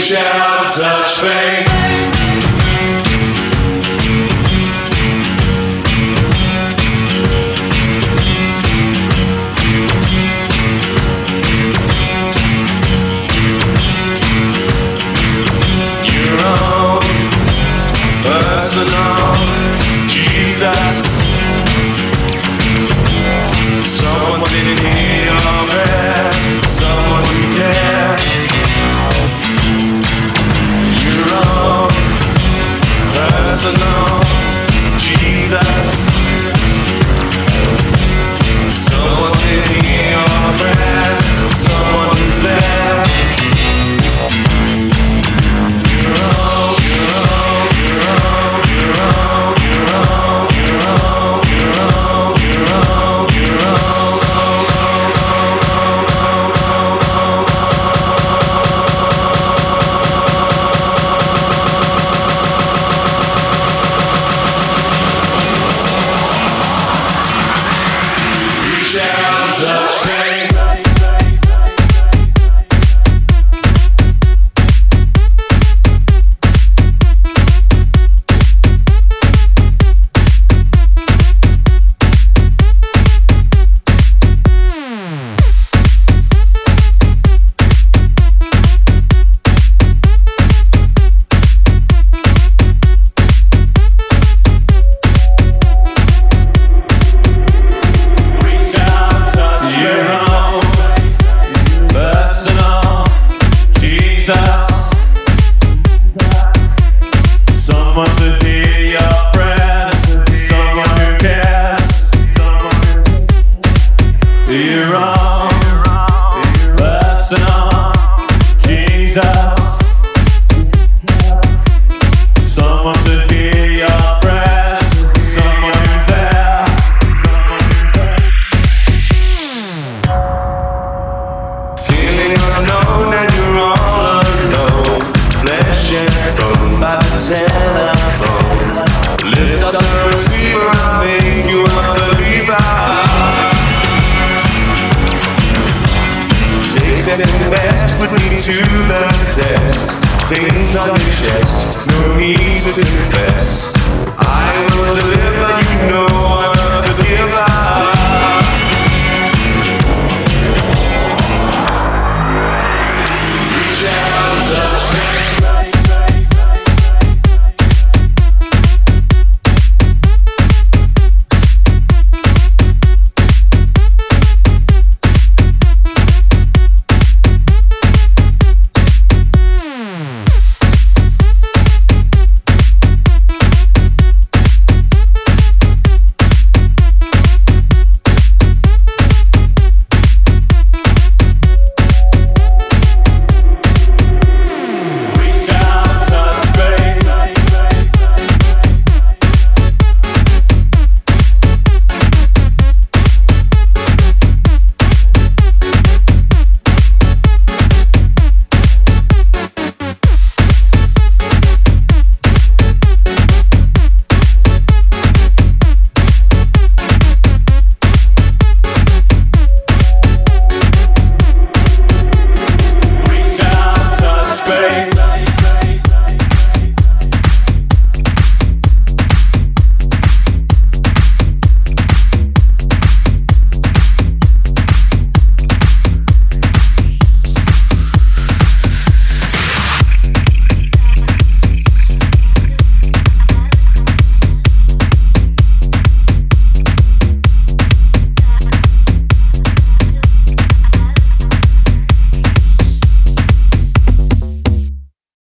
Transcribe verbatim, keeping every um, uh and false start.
Reach out, touch faith. Your own personal Jesus. Someone to hear your prayers, someone who cares. Your own personal Jesus. Someone to hear your prayers, someone who's there. Your own, your own, your own, your own, your own, your own, your own, your own, your own. Reach out, touch faith. Someone to hear your prayers, someone who cares. Your own personal Jesus. Someone to hear your prayers, someone who's there. Feeling unknown and you're all alone. Flesh and bone by the telephone. Lift up the receiver, I'll make you a believer. Take second best, put me to the test. Things on your chest, no need to confess. I will deliver, you know